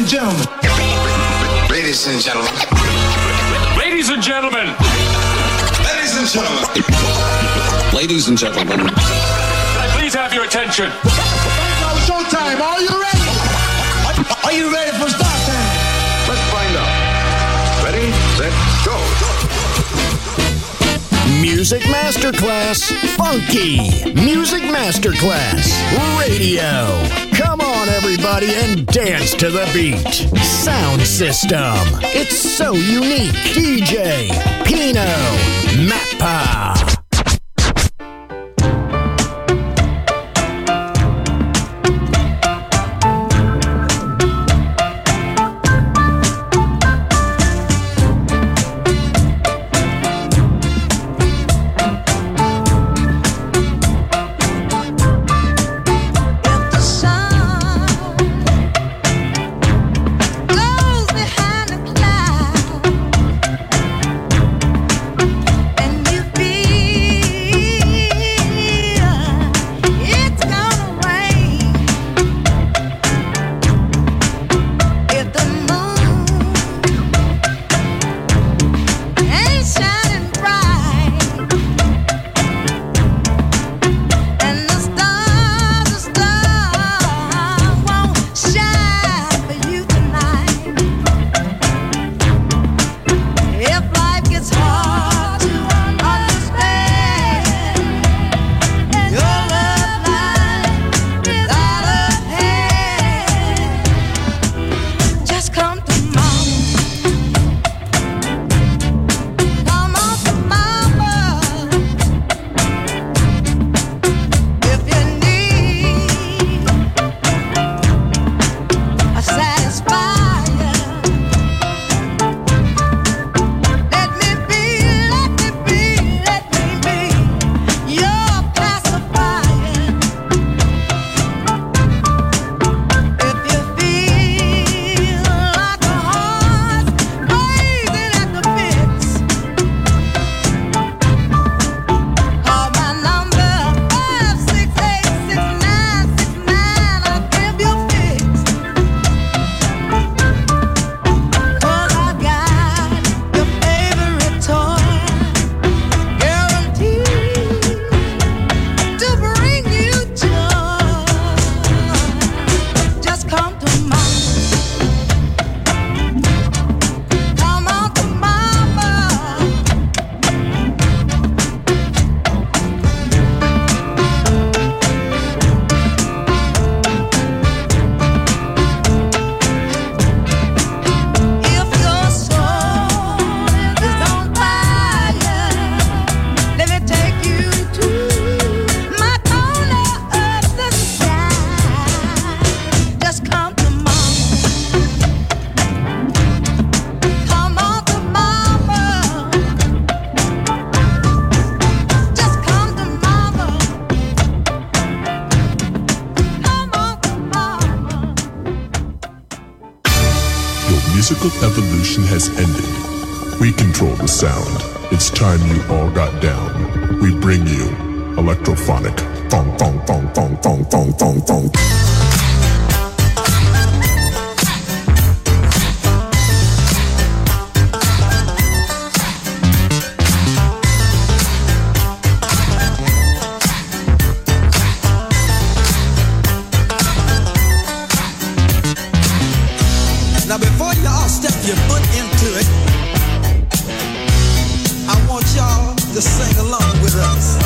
gentlemen. Ladies and gentlemen. Ladies and gentlemen. Ladies and gentlemen. Ladies and gentlemen. Can I please have your attention? Showtime. Are you ready? Are you ready for start time? Let's find out. Ready, set, go. Music Masterclass Funky. Music Masterclass Radio. Come on, everybody, and dance to the beat. Sound system. It's so unique. DJ Pino Mappa. Musical evolution has ended. We control the sound. It's time you all got down. We bring you electrophonic. Thong, thong, thong, thong, thong, thong, thong, thong. Now before y'all step your foot into it, I want y'all to sing along with us.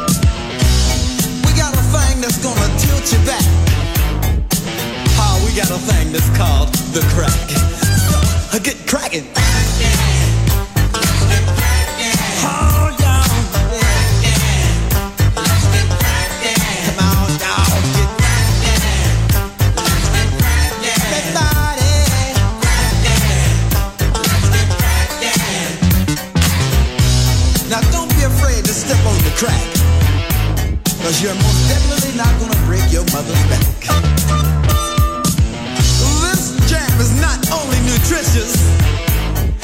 We got a thing that's gonna tilt you back. We got a thing that's called the crack. Get cracking. Crack, cause you're most definitely not gonna break your mother's back. This jam is not only nutritious,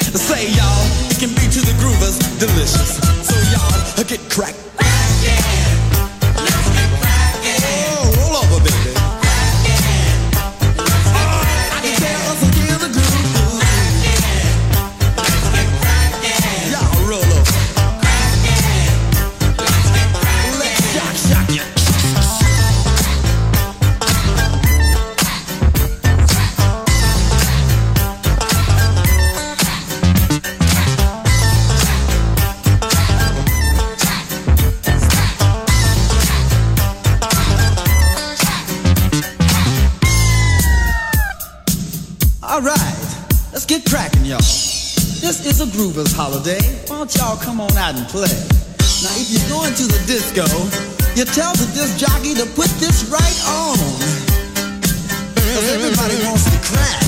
All right, let's get cracking, y'all. This is a Groovers holiday. Why don't y'all come on out and play? Now, if you're going to the disco, you tell the disc jockey to put this right on. Cause everybody wants to crack.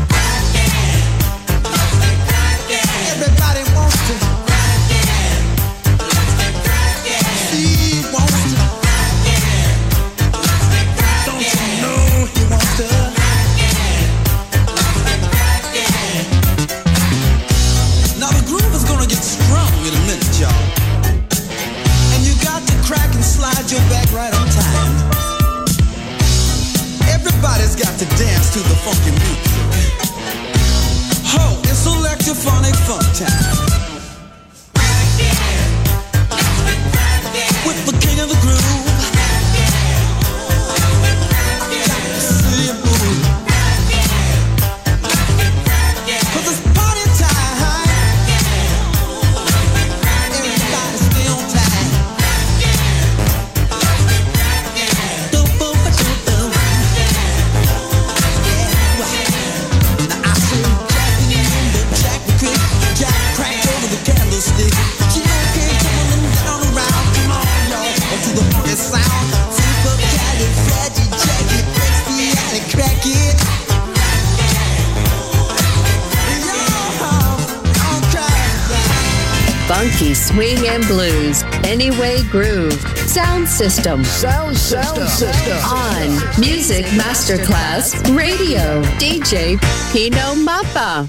Everybody wants to crack. Steve wants to crack. Don't you know he wants to crack. Now the groove is gonna get strong in a minute, y'all. And you got to crack and slide your back right on time. Everybody's got to dance to the funky music. Ho, it's electrophonic funk time. With the king of the groove. See you move. 'Cause it's party time. Everybody stay on time. Now I say Jack the Crick, Jack cracked over the candlestick. She okay, coming down around, come on y'all, to the funky sound. Super caddy, fladgy, jacky, breaks the attic, crack it. Funky swing and blues, Anyway Groove, Sound System. Sound system. On Music Masterclass Radio, DJ Pino Mappa.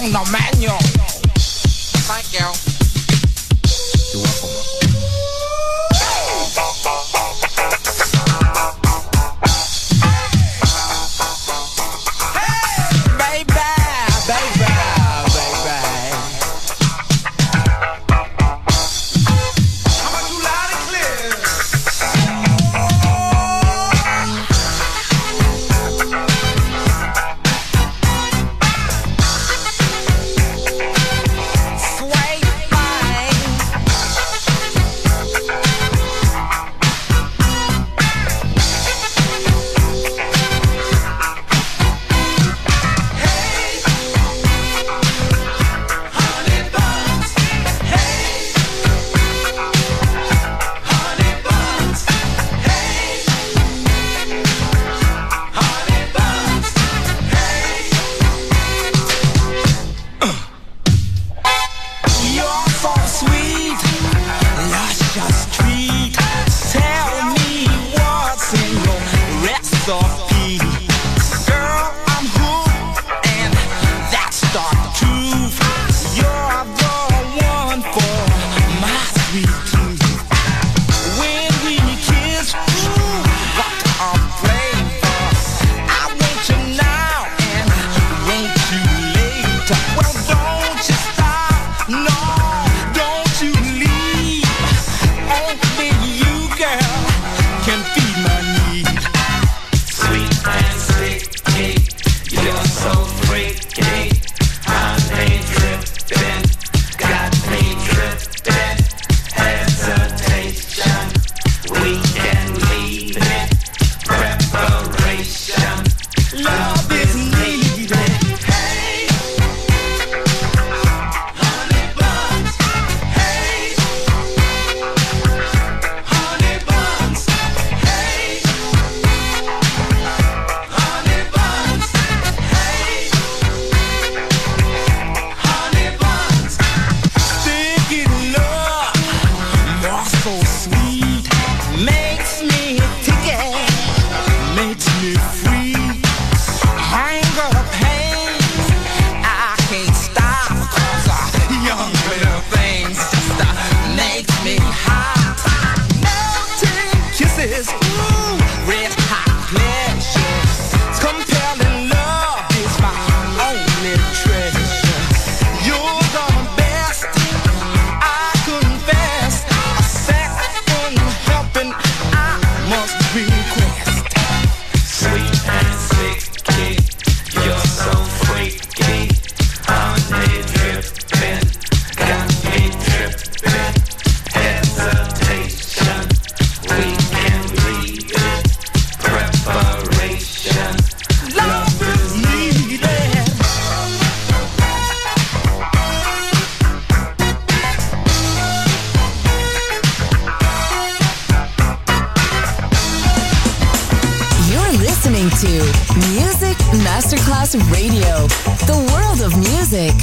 on the menu. Thank you. You're welcome. Radio, the world of music.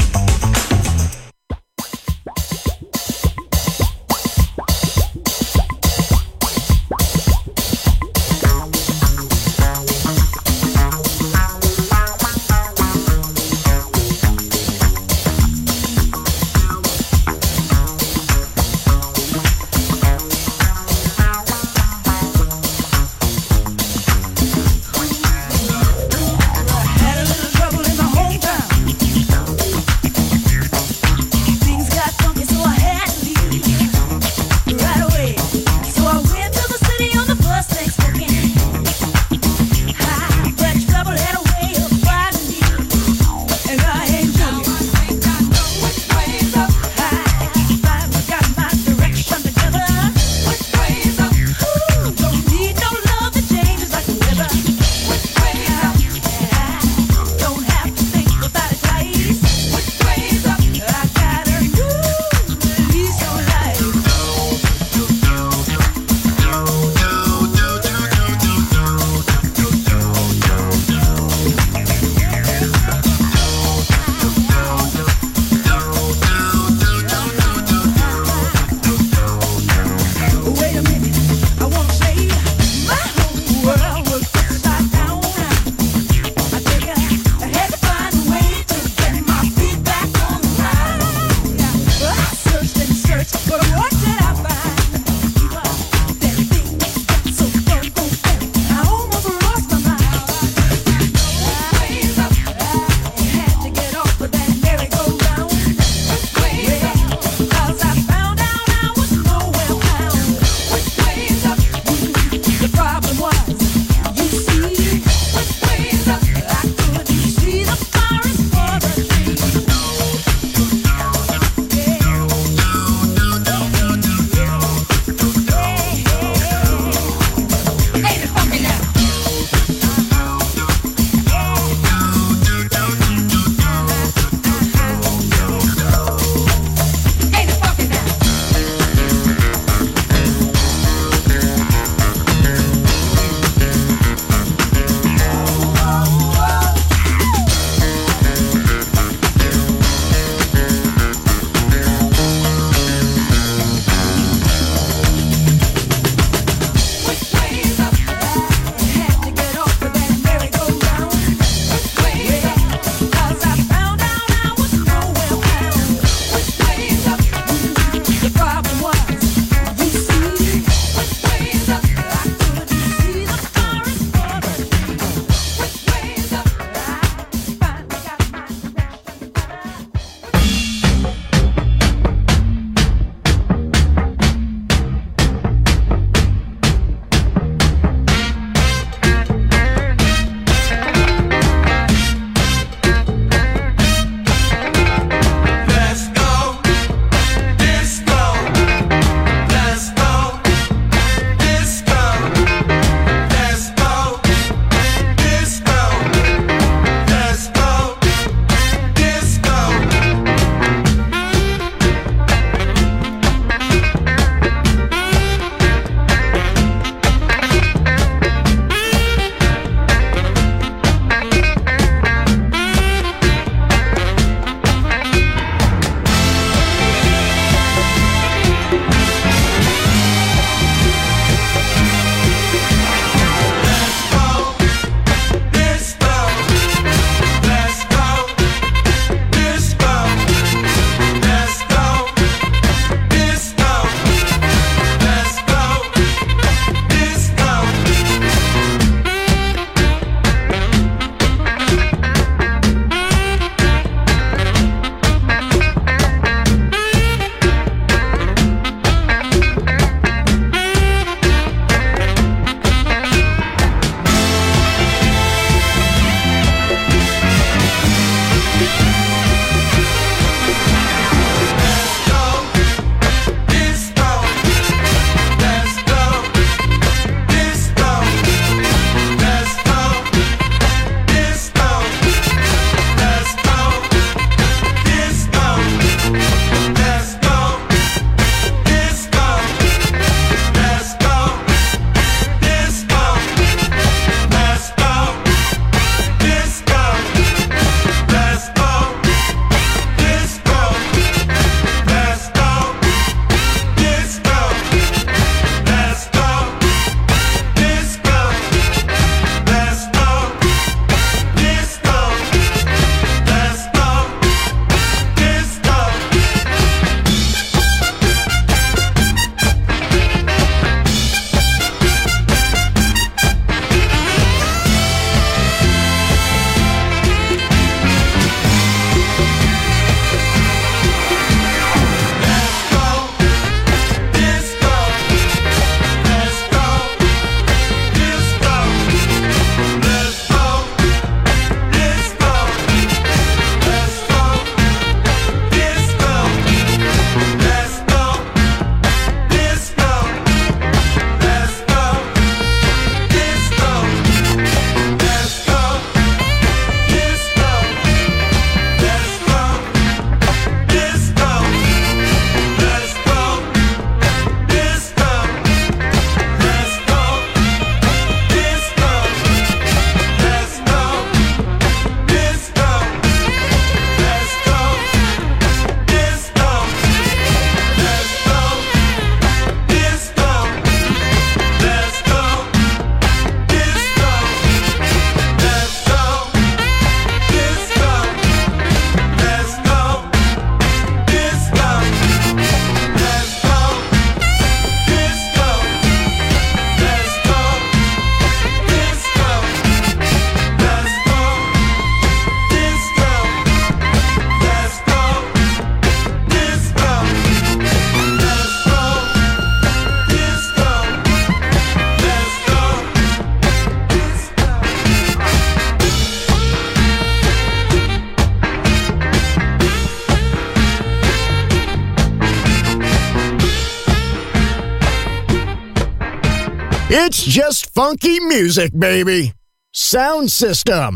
It's just funky music, baby. Sound system,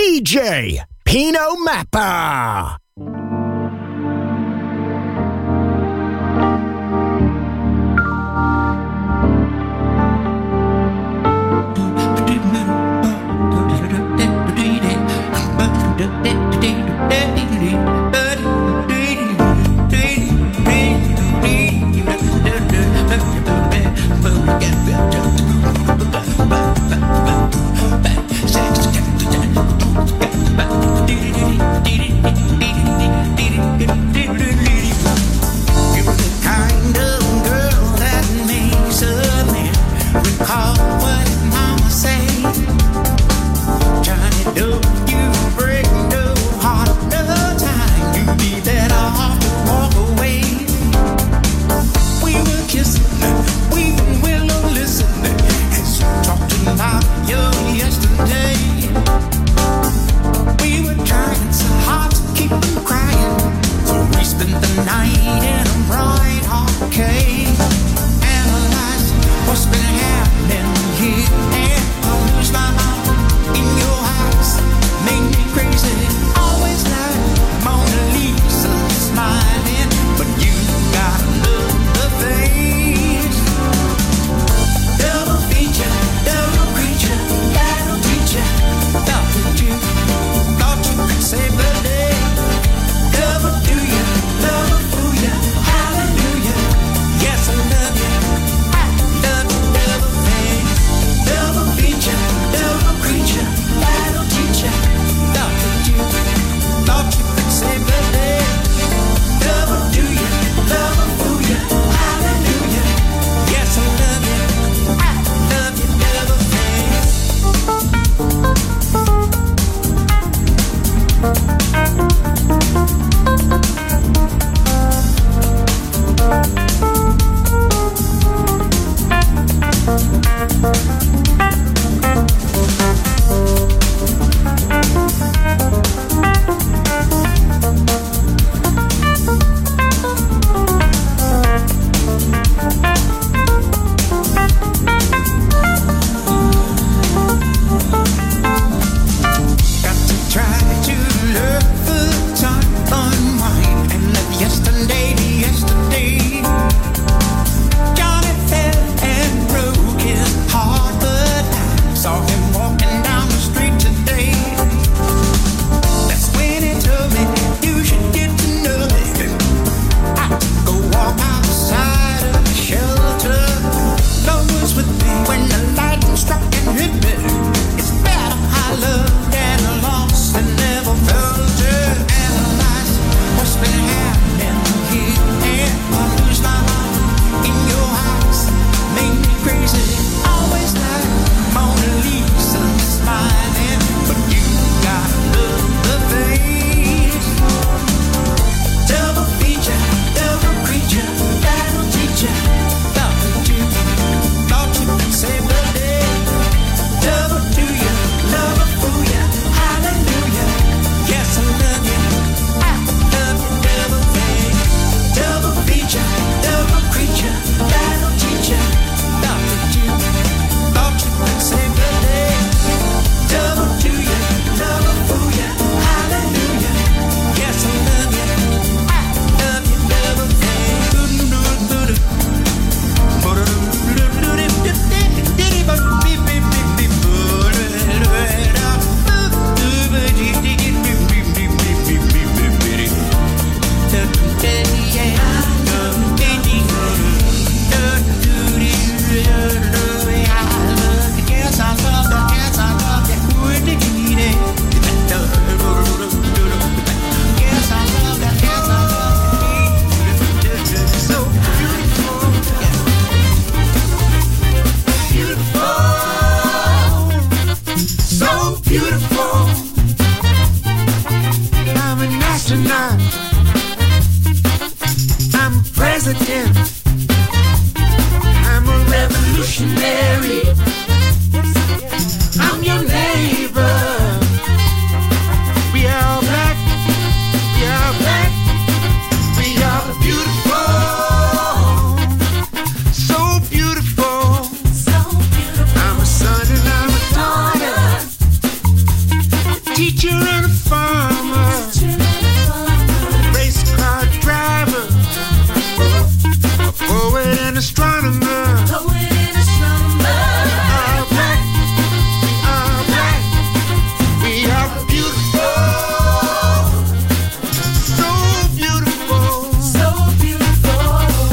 DJ Pino Mappa. Try to love the time unwind and let farmer, race car driver, a poet and astronomer. All black, we are beautiful, so beautiful, so beautiful.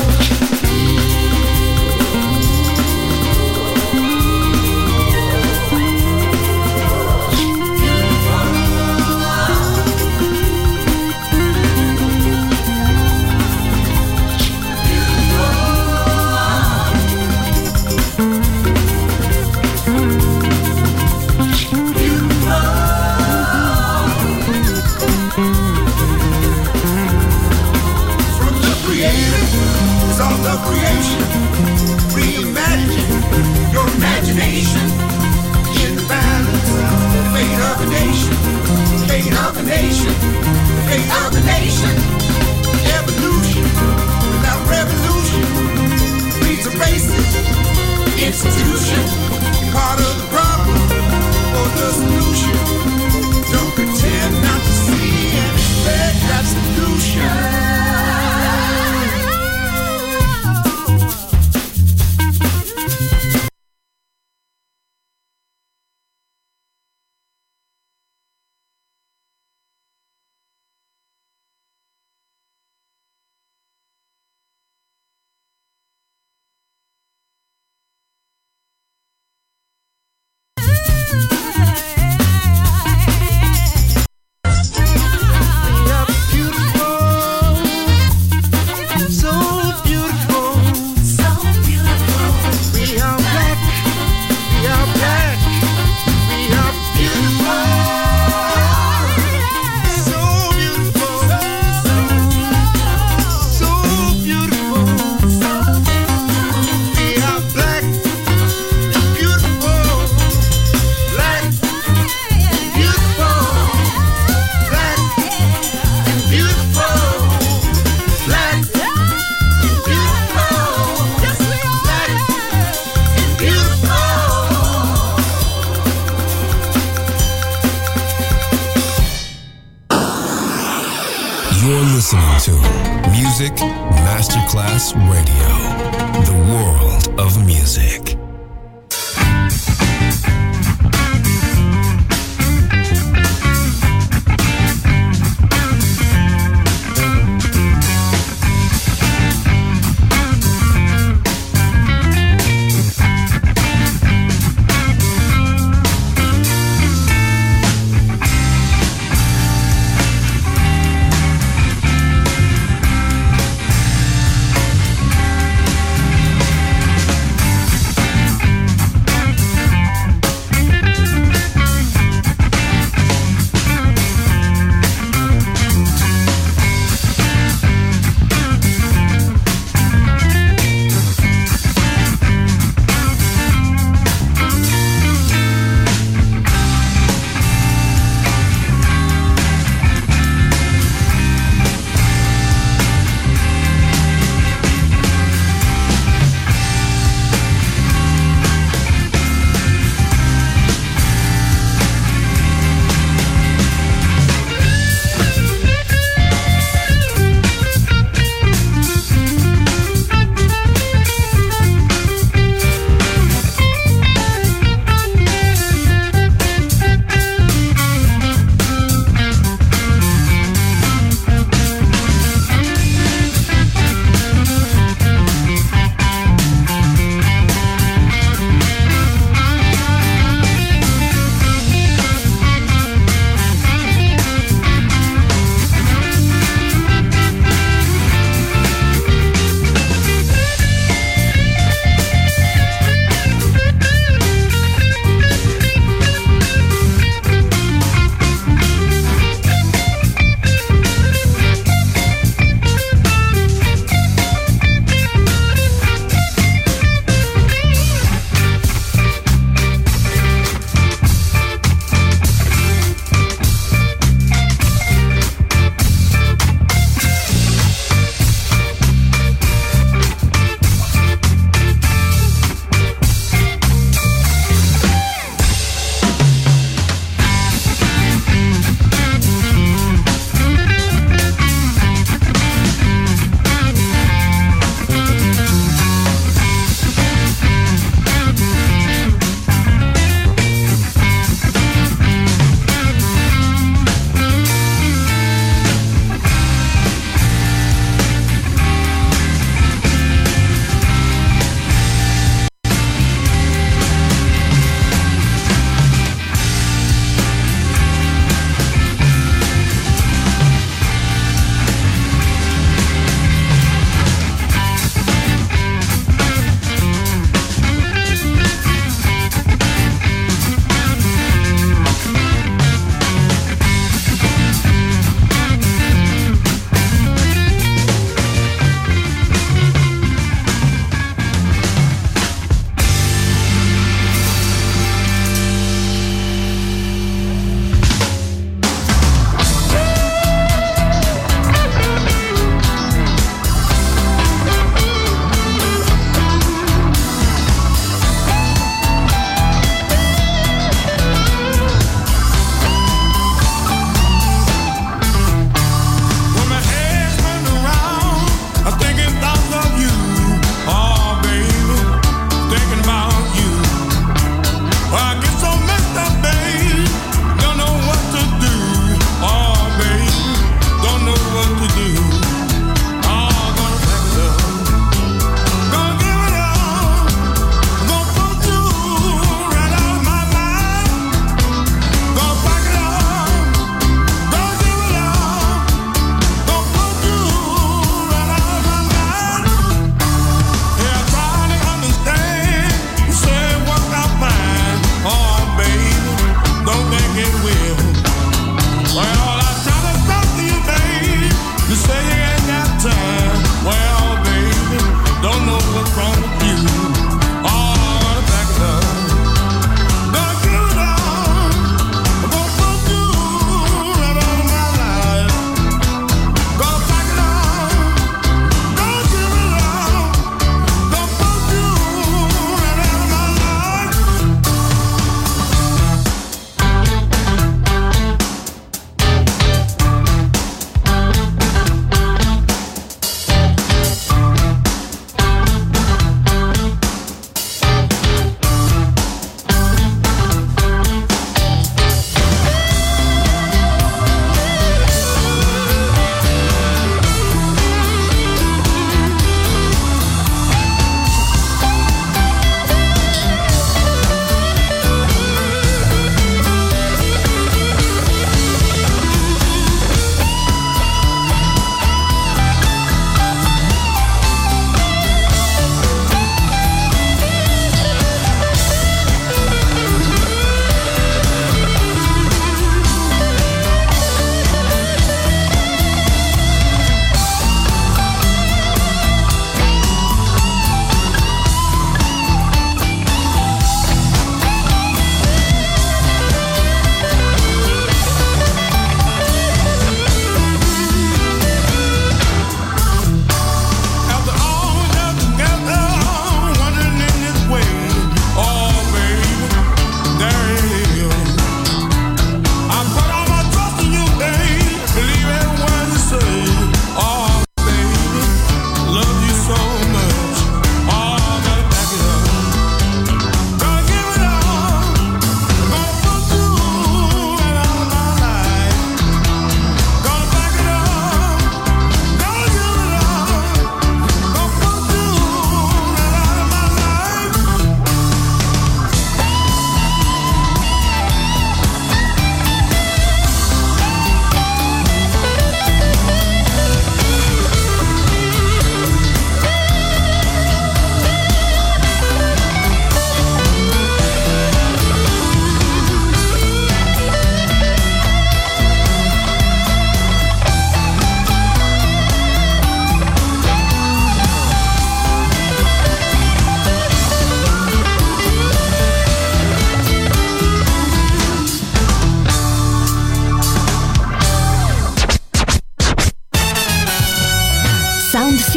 Creation, reimagine your imagination in the balance, the fate of a nation, fate of a nation, fate of a nation. Evolution without revolution breeds a racist institution. Part of the problem or the solution. Don't pretend not to see and expect that solution. listening to Music Masterclass Radio, the world of music.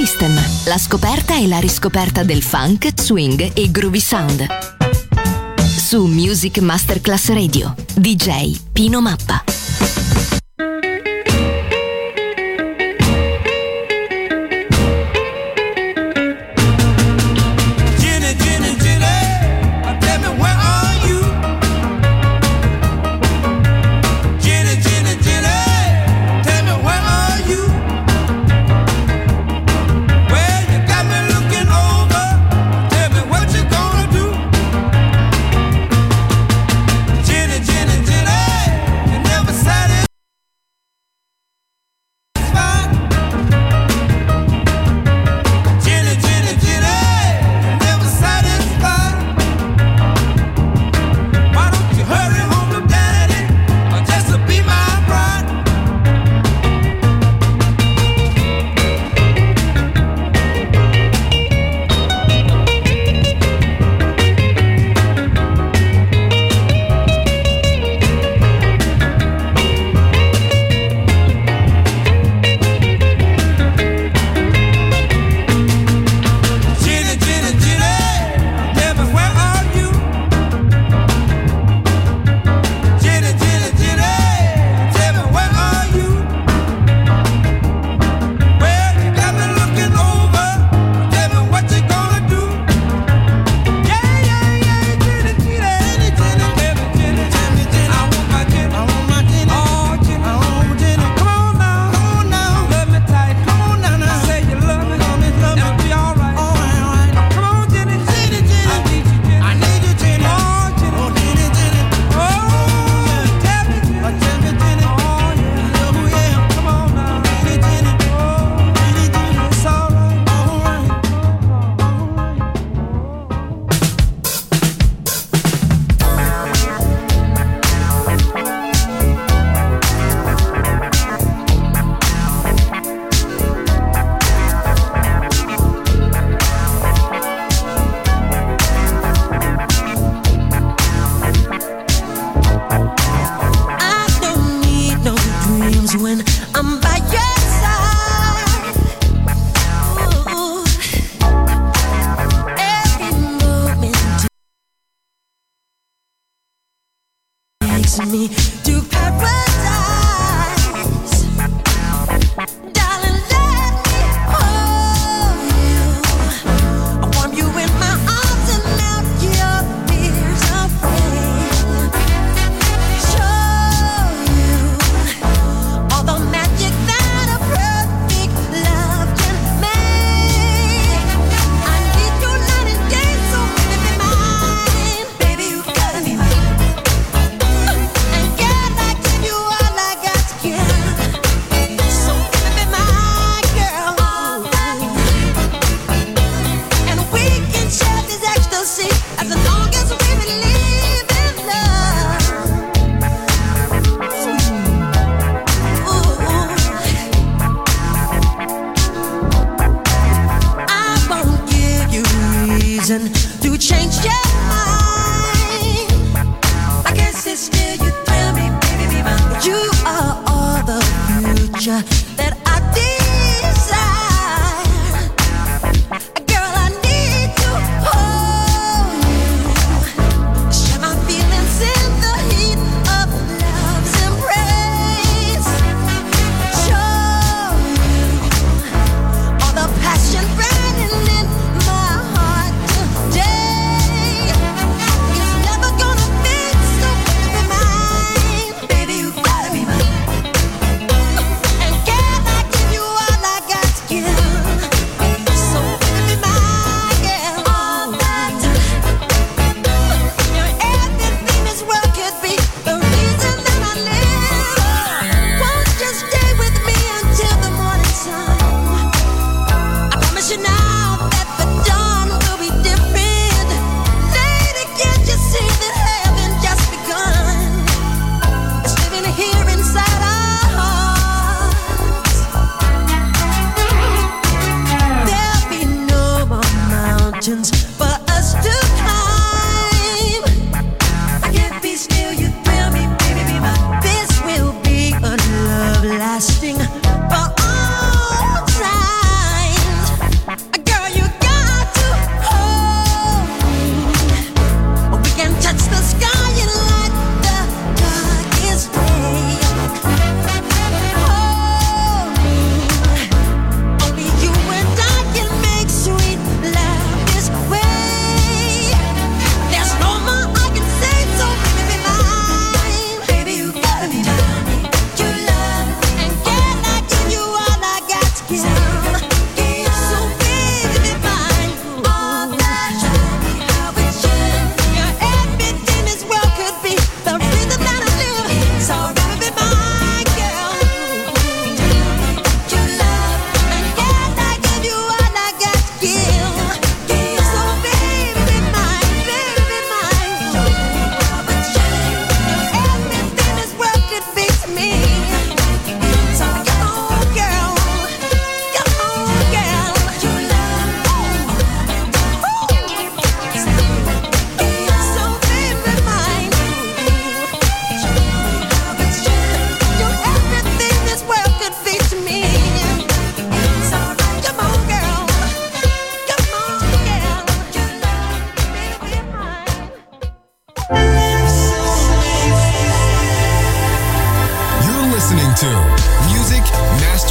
System, la scoperta e la riscoperta del funk, swing e groovy sound. Su Music Masterclass Radio, DJ Pino Mappa. Me to paradise, darling, let me hold you. I warm you in my arms and melt your fears away. Show you all the magic that a perfect love can make. I need you night and day, so baby be mine. Baby, you gotta be mine. As long as we believe in love. Ooh. I won't give you reason to change your mind. I guess it's still you thrill me, baby, be mine. But you are all the future that I desire. Girl, I need to hold you. Share my feelings in the heat of love's embrace. Show you all the passion burning in my heart today. It's never gonna be so, baby, mine. Baby, you gotta be mine. And can I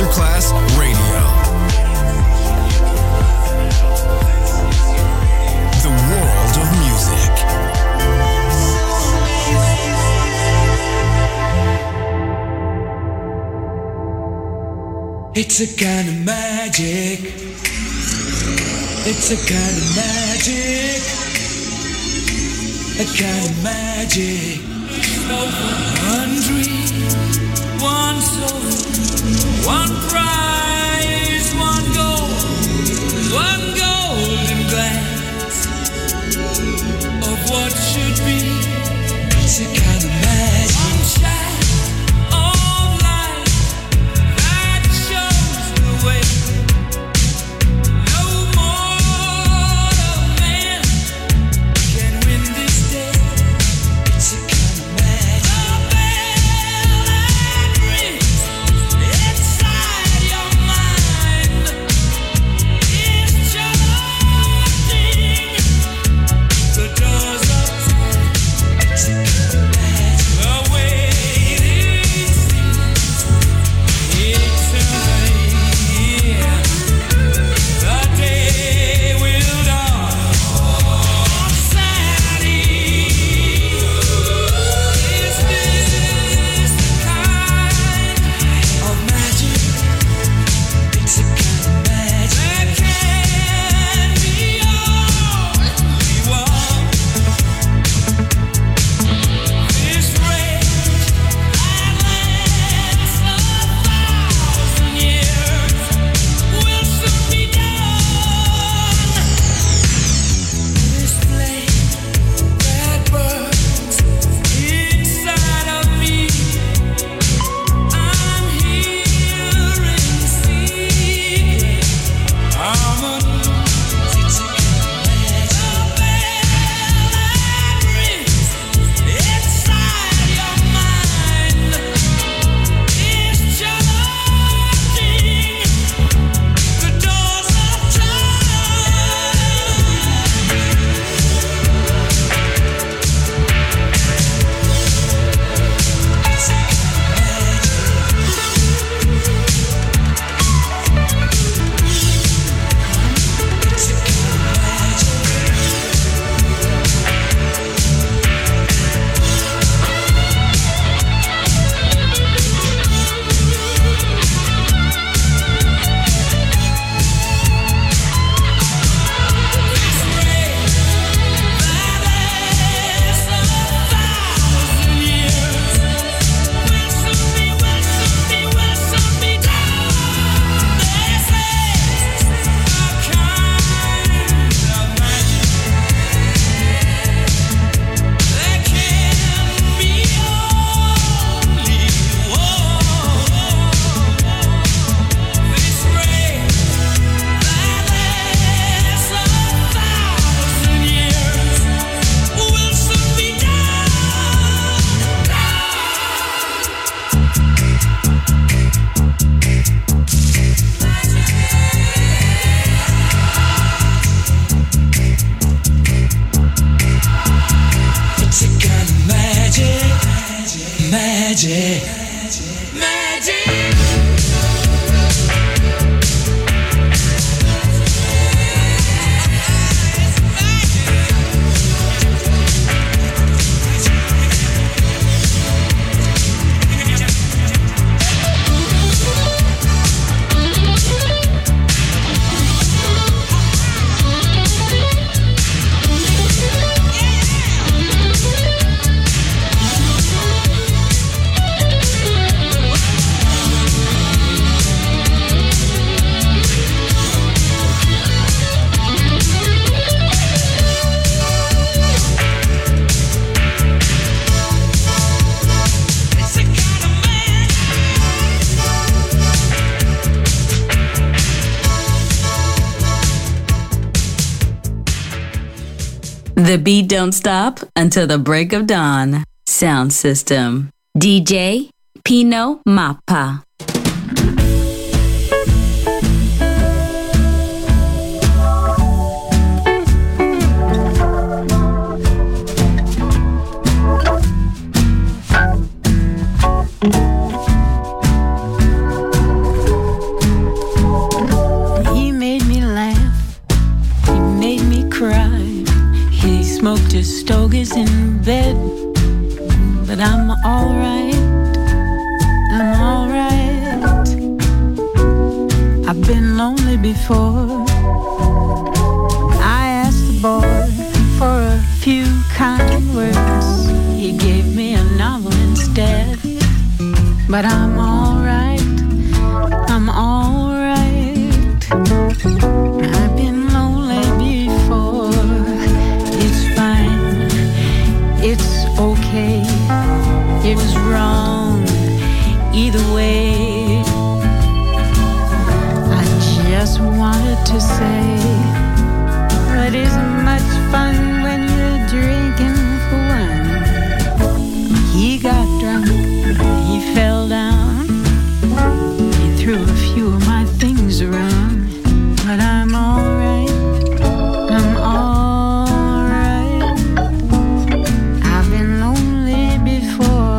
Masterclass Radio. The world of music. It's a kind of magic. It's a kind of magic. A kind of magic. One dream, one soul, one prize, one golden glance of what should be. It's a kind of magic. One shine of light that shows the way. No mortal man can win this day. It's a kind of magic. A bell that rings inside your mind is charging the doors of time. It's a kind of magic. The waiting seems eternity. The day will dawn on Saturday. Is this the kind of magic? It's a kind of magic. There can be only one. This rage that lasts 1,000 years will soon be done. This flame that burns inside of me, I'm hearing secret harmonies. It's a kind of magic. The bell that rings inside your mind is charging the doors of time. It's a kind magic. The beat don't stop until the break of dawn. Sound system. DJ Pino Mappa. Mr. Stoker's in bed, but I'm alright. I'm alright. I've been lonely before. I asked the boy for a few kind words. He gave me a novel instead. But I'm alright. I'm alright. I've been lonely before. It's fine. It's okay. It was wrong either way. I just wanted to say, it isn't much fun when you're drinking for one. He got drunk, he fell down, he threw a few of my things around, but I'm alright, I'm alright. I've been lonely before.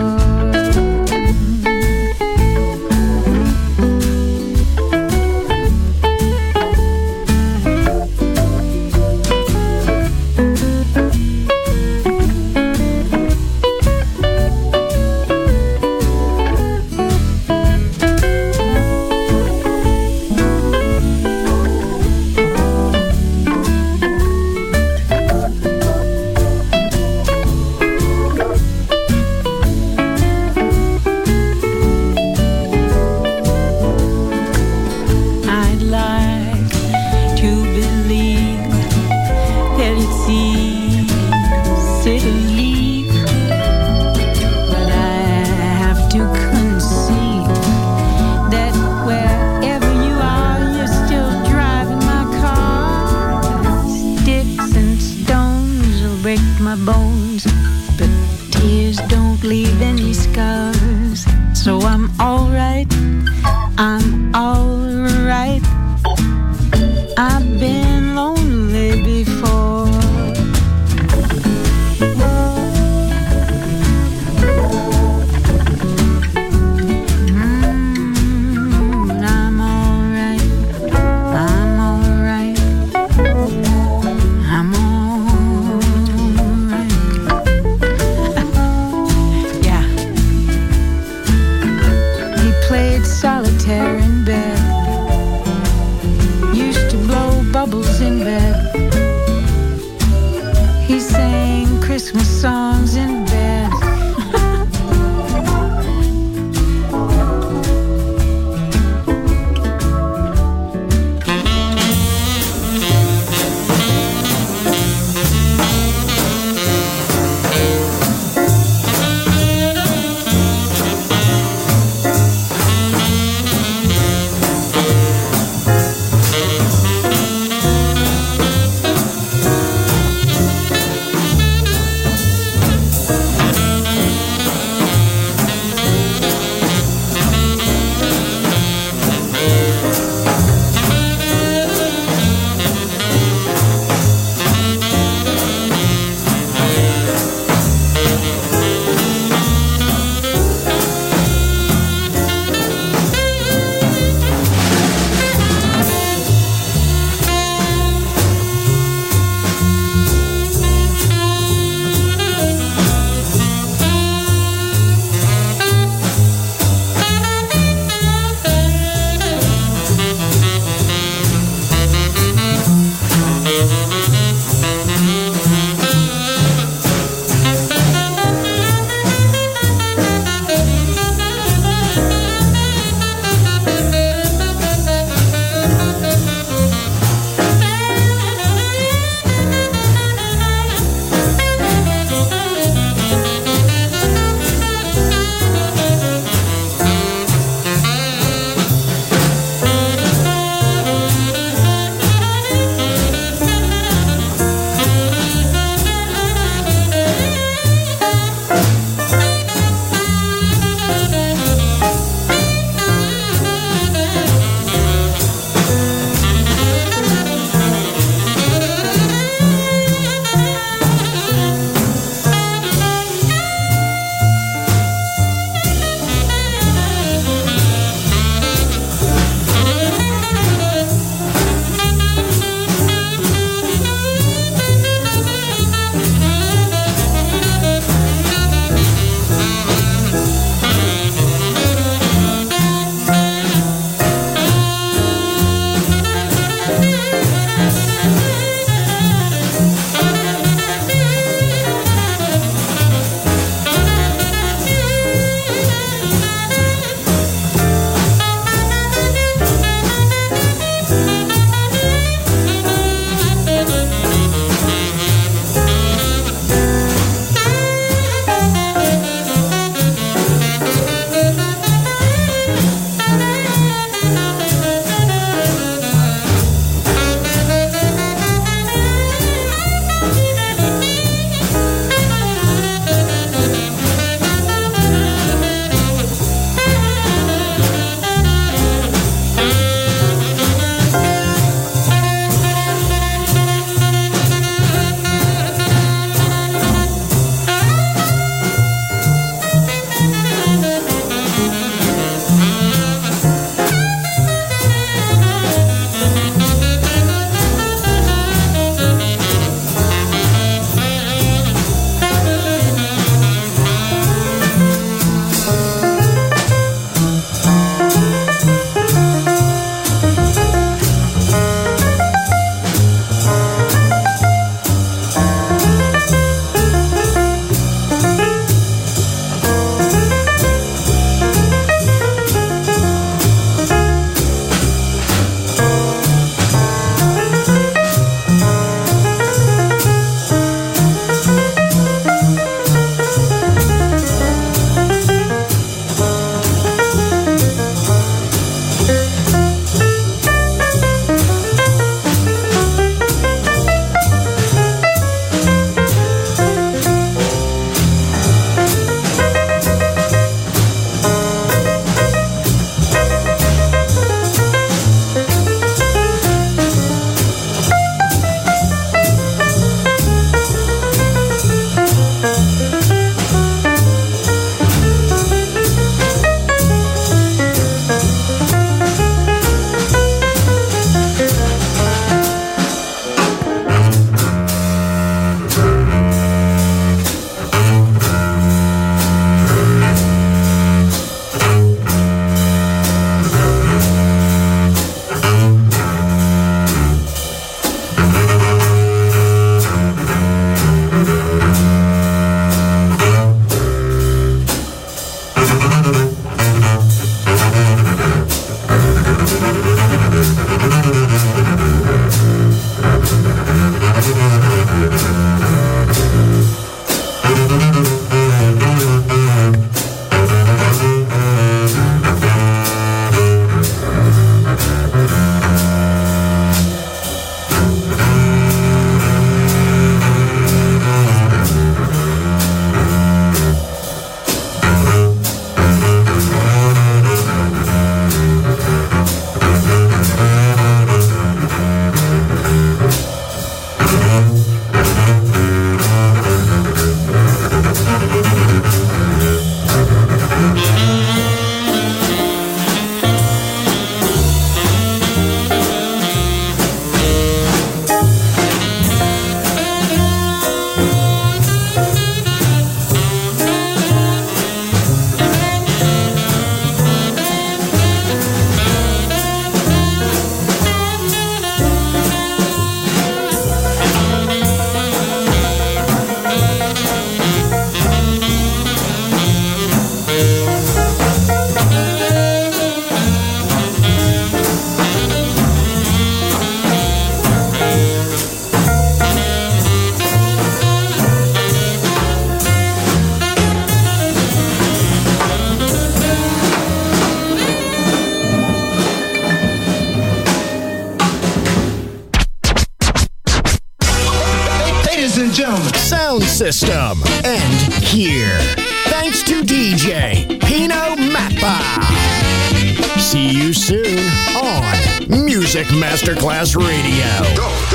and gentlemen. Sound system. And here. Thanks to DJ Pino Mappa. See you soon on Music Masterclass Radio. Go.